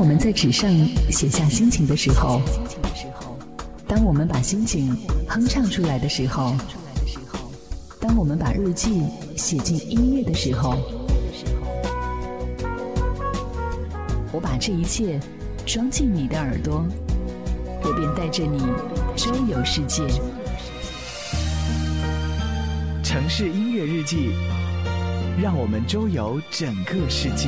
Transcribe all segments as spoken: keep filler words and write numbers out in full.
我们在纸上写下心情的时候，当我们把心情哼唱出来的时候，当我们把日记写进音乐的时候，我把这一切装进你的耳朵，我便带着你周游世界。 城市音乐日记，让我们周游整个世界。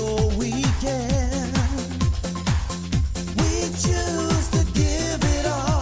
Choose to give it all.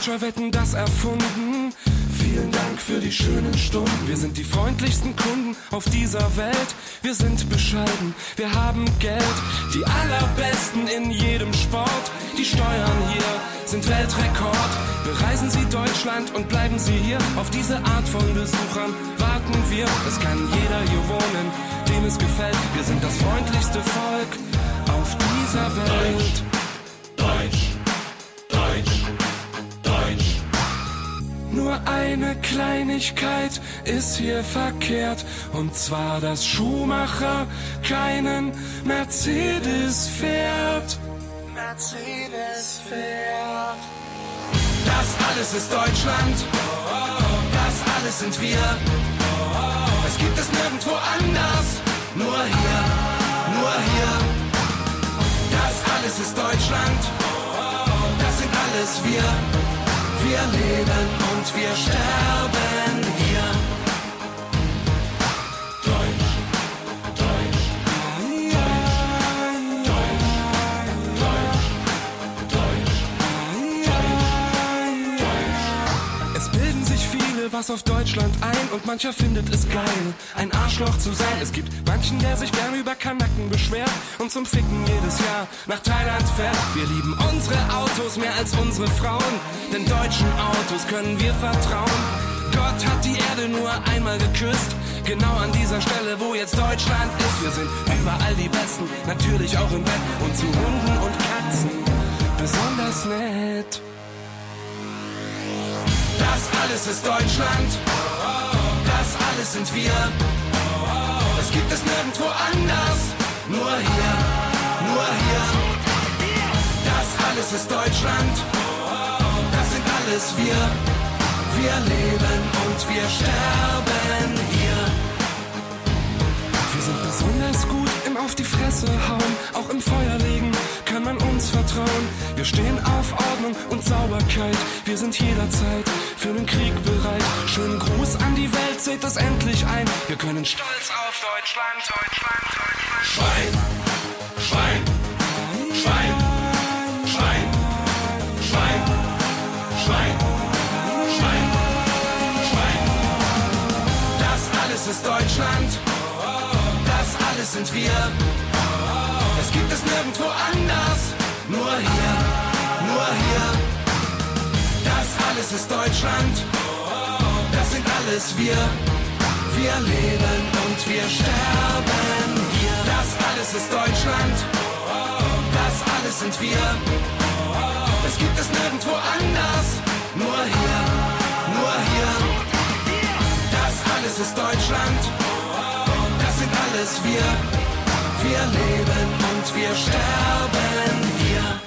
Deutscher Wetten, das erfunden. Vielen Dank für die schönen Stunden. Wir sind die freundlichsten Kunden auf dieser Welt. Wir sind bescheiden, wir haben Geld. Die allerbesten in jedem Sport. Die Steuern hier sind Weltrekord. Bereisen Sie Deutschland und bleiben Sie hier. Auf diese Art von Besuchern warten wir. Es kann jeder hier wohnen, dem es gefällt. Wir sind das freundlichste Volk auf dieser Welt. Deutsch, Deutsch, Deutsch, Deutsch. Nur eine Kleinigkeit ist hier verkehrt, und zwar, dass Schumacher keinen Mercedes fährt. Mercedes fährt. Das alles ist Deutschland, das alles sind wir. Es gibt es nirgendwo anders, nur hier, nur hier. Das alles ist Deutschland, das sind alles wir. Wir leben und wir sterben hier. Deutsch, Deutsch, Deutsch, Deutsch, Deutsch, Deutsch. Es bilden sich viele was auf Deutschland ein und mancher findet es geil, ein Arschloch zu sein. Es gibt manchen, der sich gern über Kanaken beschwert und zum Ficken jedes Jahr nach Thailand fährt. Wir lieben unsere Autos mehr als unsere Frauen, denn deutschen Autos können wir vertrauen. Gott hat die Erde nur einmal geküsst, genau an dieser Stelle, wo jetzt Deutschland ist. Wir sind überall die Besten, natürlich auch im Bett und zu Hunden und Katzen besonders nett. Das alles ist Deutschland, das alles sind wir. Es gibt es nirgendwo anders, nur hier, nur hier. Das alles ist Deutschland, das sind alles wir. Wir leben und wir sterben hier. Wir sind besonders gut im Auf die Fresse hauen, auch im Feuer legen kann man uns vertrauen. Wir stehen auf Ordnung und Sauberkeit, wir sind jederzeit für den Krieg bereit. Schönen Gruß an die Welt, seht es endlich ein. Wir können stolz auf Deutschland, Deutschland, Deutschland. Schwein, Schwein, Schwein, Schwein, Schwein, Schwein, Schwein, Schwein. Das alles ist Deutschland, das alles sind wir. Es gibt es nirgendwo anders, nur hier, nur hier. Das alles ist Deutschland, das sind alles wir. Wir leben und wir sterben hier. Das alles ist Deutschland, das alles sind wir. Es gibt es nirgendwo anders, nur hier, nur hier. Das alles ist Deutschland, das sind alles wir. Wir leben und wir sterben hier.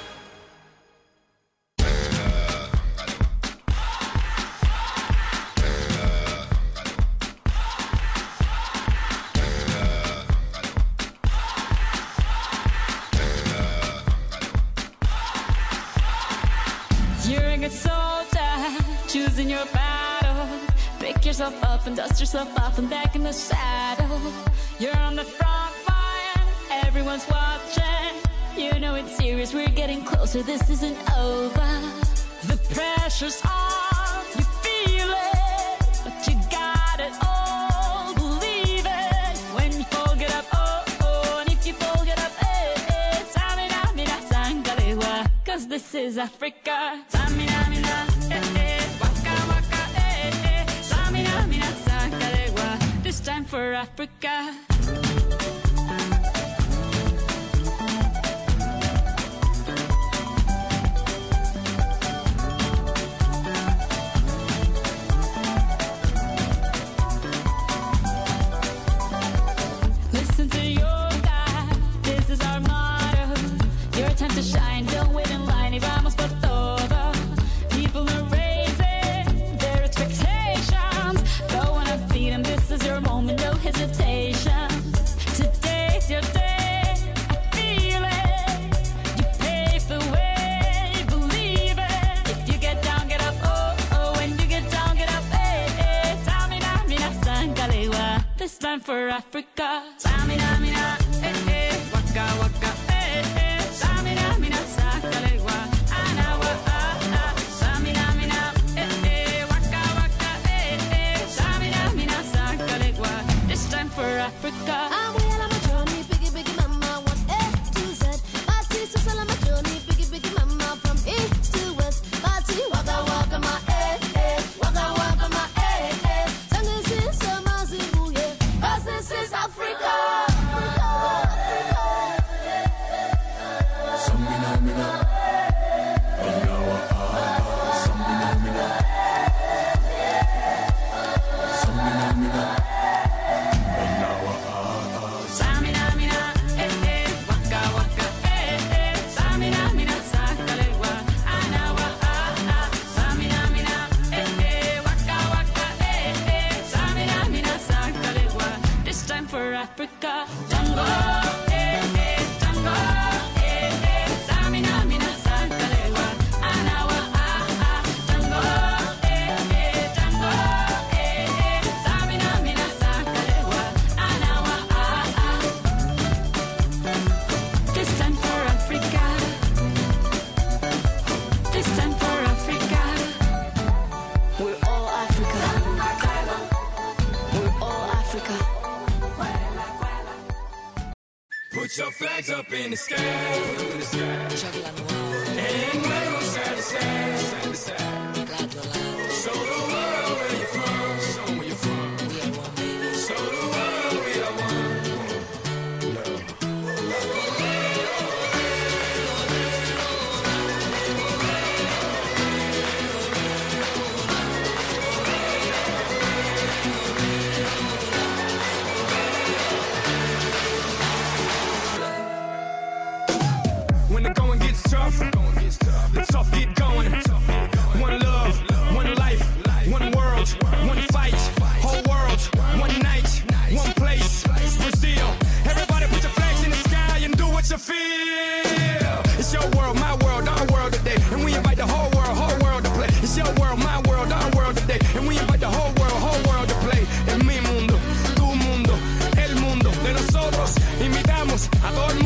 You're a good soldier, choosing your battle. Pick yourself up and dust yourself off and back in the saddle. You're on the front line, everyone's watching. You know it's serious, we're getting closer, this isn't over. The pressure's on, you feel it, but you got it all, believe it. When you fall, get up, oh, oh, and if you fall, get up, eh, eh. Samina, mina, sangalewa, cause this is Africa. Samina, mina, eh, eh, waka, waka, eh, eh. Samina, mina, sangalewa, this time for Africa. Time to shine, don't wait in line, y vamos por todo. People are raising their expectations. Go on and feed them, this is your moment, no hesitation. Today's your day, I feel it. You pave the way, believe it. If you get down, get up, oh, oh. When you get down, get up, eh, eh. Samina, mina, sangalewa, this time for Africa. Samina, mina, eh, eh. Waka, waka, eh, eh. Samina, mina, sangalewa, anawa, ah, ah. Samina, mina, Put your flags up in the sky, in the sky. And wave them side to side, side to side. Show the world where you're from, show them where you're from. Show the world we are one. When the going gets tough, the tough get going. One love, one life, one world, one fight. Whole world, one night, one place. Brazil, everybody put your flags in the sky and do what you feel. It's your world, my world, our world today. And we invite the whole world, whole world to play. It's your world, my world, our world today. And we invite the whole world, whole world to play. En mi mundo, tu mundo, el mundo de nosotros. Invitamos a todo el